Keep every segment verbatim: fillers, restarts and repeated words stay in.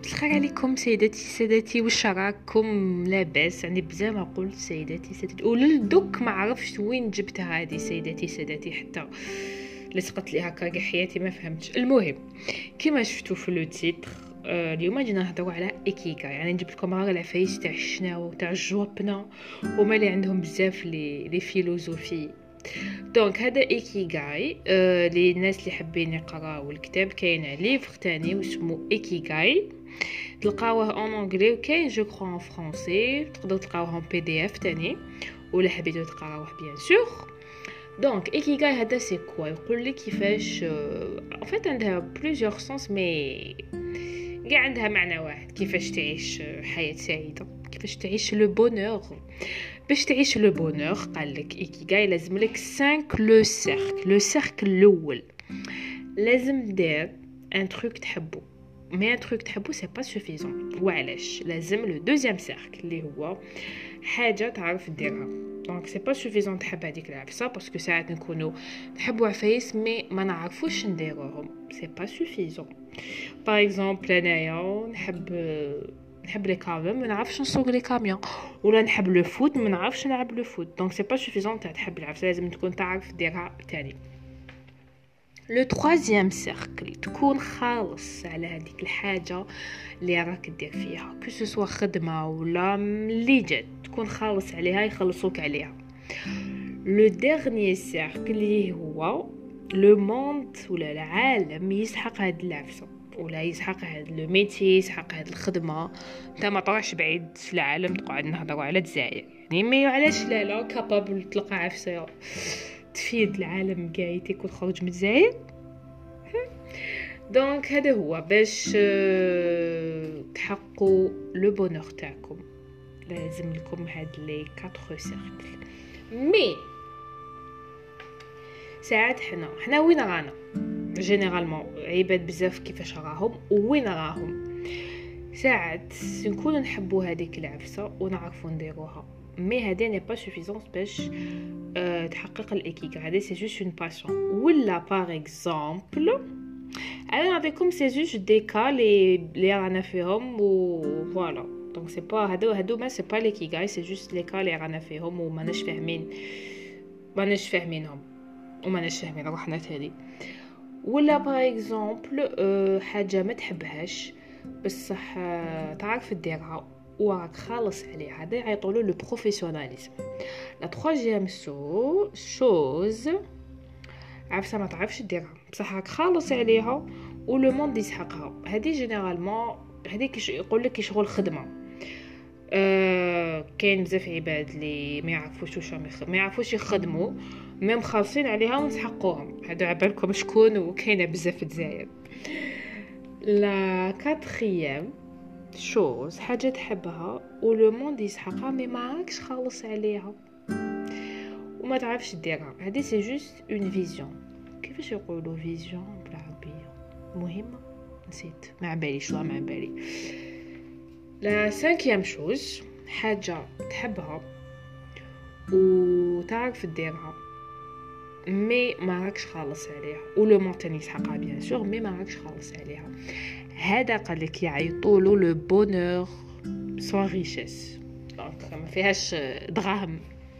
الخير عليكم سيداتي سادتي، واش راكم؟ لاباس؟ يعني بزاف ما قلت سيداتي سادتي وللدوك ما عرفتش وين جبتها هذه سيداتي سادتي، حتى لصقت لي هكا كاع حياتي ما فهمتش. المهم كيما شفتوا في لو تيتر، آه اليوم جينا نهضروا على ايكيغاي. يعني نجيب لكم غير العفايس تاع الشناو تاع الجوابنا وما اللي عندهم بزاف لي لي فيلوزوفي. دونك هذا ايكيغاي آه للناس اللي حابين يقراو الكتاب. كاين ليفر تاني واسمه ايكيغاي، تلقاوه اون انجلي وكاين جو كرو ان فرونسي، تقدروا تلقاوه ان بي دي اف تاني ولا حبيتو تقراوه بيان سور. دونك ايكيغاي هذا سي كوا؟ يقول لك كيفاش ان فيت عندها بليزيور سونس مي كاع عندها معنى واحد، كيفاش تعيش حياة سعيدة، كيفاش تعيش لو بونور. باش تعيش لو بونور قال لك ايكيغاي لازم لك خمسة لو سيركل. لو سيركل الاول لازم دير ان تروك تحبو، مي ان تروك تحبو سي با سوفيزون. وعلاش؟ لازم لو دوزيام سيركل اللي هو حاجه تعرف ديرها. دونك سي با سوفيزون تحب هذيك العفسه، باسكو ساعات نكونوا نحبوا عفايس مي ما نعرفوش نديروهم، سي با سوفيزون. باغ اكزومبل انايا نحب نحب لي كاميون ما نعرفش نسوق لي كاميون، ولا نحب لو فوت ما نعرفش نلعب لو فوت. دونك سي با سوفيزون تاع تحب العفسه، لازم تكون تعرف ديرها تاني. لو troisième سيركل تكون خالص على هذيك الحاجه اللي راك دير فيها، كو سو خدمه ولا اللي جات، تكون خالص عليها يخلصوك عليها. لو ديرنيي سيركل اللي هو لو موند ولا العالم يسحق هاد العفسه، ولا يسحق هاد لو ميتي، يسحق هاد الخدمه. انت ما طرحش بعيد في العالم تقعد نهضروا على الجزائر، يعني مي علاش لا لا كابابل تلقى عفسه تفيد العالم كاع يتيك وتخرج من الجزائر. دونك هذا هو باش تحققوا لو بونور تاعكم، لازم لكم هاد لي أربعة سيركل. مي ساعات حنا حنا وين رانا جينيرالمون عباد بزاف كيفاش راهم وين راهم. ساعات نكونوا نحبوا هذيك العفسه ونعرفوا نديروها، مي هذه ني با سوفيزونس باش أه تحقق الايكيغاي. هذه سي جوست اون باسيون. ولا باغ اكزومبل انا نعطيكم سي جوست دي كا لي لي رانا فيهم و فوالا. دونك سي با هادو هادو ما سي با الايكيغاي، سي جوست لي كا لي رانا فيهم وما ناش فاهمين ما ناش فاهمينهم وما ناش فاهمين روحنا تالي. ولا باغ اكزومبل أه حاجه ما تحبهاش بصح أه تعرف ديرها وراك خالص عليها، هذا يعيطولو لو بروفيسيوناليزم. لا troisième سو شوز عفسه ما تعرفش ديرها بصح راك خالص عليها ولو موند يسحقها. هذه جينيرالمون هذيك يقول لك شغل خدمه. أه كاين بزاف عباد اللي ما يعرفوش واش ما يعرفوش يخدموا ميم خالصين عليها ونسحقوهم. هادو عبالكم شكون؟ وكاينه بزاف في الجزائر. لا كاتريام شوز حاجه تحبها ولو موند يسحقها مي ما راكش خالص عليها وما تعرفش ديرها. هذه سي جوست اون فيزيون. كيفاش يقولوا فيزيون بالعربيه؟ مهمه نسيت، ما باليش والله ما بالي. لا سانكيام شوز حاجه تحبها وتعرف ديرها مي ما راكش خالص عليها ولو مونتين يسحقها بيان سور مي ما راكش خالص عليها. هذا قال لك يعيطولو لو بونور سون ريشيس. دونك ما فيهاش دراهم.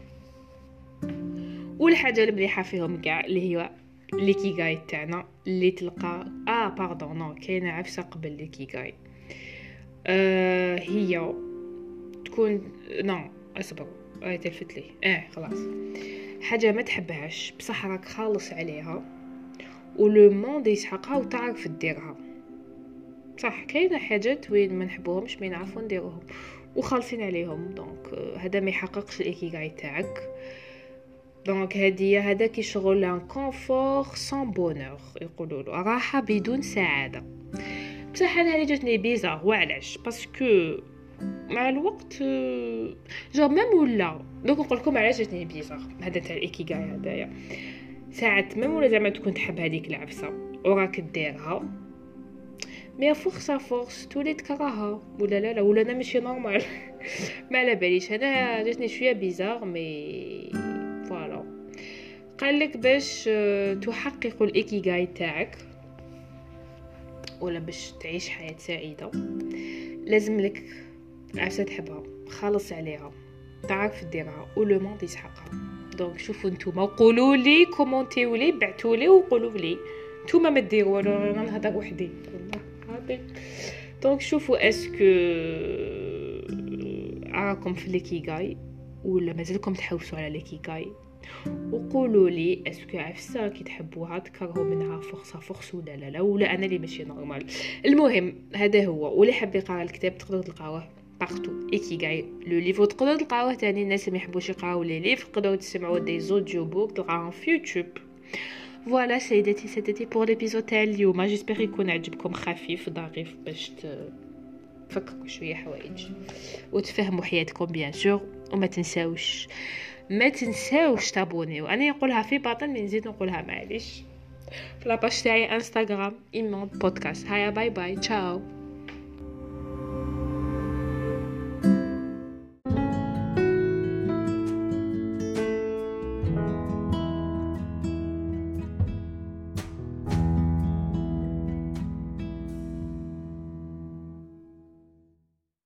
والحاجه المليحه فيهم كاع اللي هي ليكيغاي تاعنا اللي تلقى اه باردون نو كاينه عفسه قبل ليكيغاي. آه هي تكون نو اصبر اي تلفت لي اه خلاص. حاجه ما تحبهاش بصح راك خالص عليها ولو موند يسحقها وتعرف ديرها. صح كاينه حاجات وين ما نحبوهمش مي نعرفوا نديروهم وخالصين عليهم. دونك هذا ما يحققش الايكيغاي تاعك. دونك هذه هذا كي شغل ان كونفور سون بونور، يقولوا له راحه بدون سعاده. بصح انا اللي جاتني بيزار. وعلاش؟ باسكو مع الوقت جو ميم ولا دوك نقول لكم علاش جاتني بيزار هذا تاع الايكيغاي. هذايا ساعات ميم ولا زعما تكون تحب هذيك العفسه وراك ديرها مي فورس فورس تولي تكرهها ولا لا لا ولا انا ماشي نورمال ما على باليش. انا جاتني شويه بيزار مي فوالا. قال لك باش تحقق الايكيغاي تاعك ولا باش تعيش حياة سعيدة لازم لك عفسة تحبها، خالص عليها، تعرف ديرها ولو موند يسحقها. دونك شوفوا نتوما وقولوا لي، كومونتيو لي، بعثوا لي وقولوا لي نتوما ما ديروا ولا انا نهضر وحدي والله عادي. دونك شوفوا اسكو راكم في ليكيغاي ولا مازالكم تحوسوا على ليكيغاي، وقولوا لي اسكو عفسه كي تحبوها تكرهوا منها فرصه فرص ولا لا لا، ولا انا اللي ماشي نورمال. المهم هذا هو، واللي حاب يقرا الكتاب تقدروا تلقاوه بارتو ايكيغاي لو ليفو، تقدروا تلقاوه ثاني الناس اللي ما يحبوش يقراو لي ليف تقدروا تسمعوا دي زوديو بوك تلقاوهم في يوتيوب. فوالا سيداتي سيداتي بور ليبيزود تاع اليوم، جيسبر يكون عجبكم، خفيف ظريف باش تفكروا شويه حوايج وتفهموا حياتكم بيان سور. وما تنساوش ما تنساوش تابونيو، انا نقولها في باطن من نزيد نقولها معليش في لاباج تاعي انستغرام ايمون بودكاست. هيا باي باي تشاو.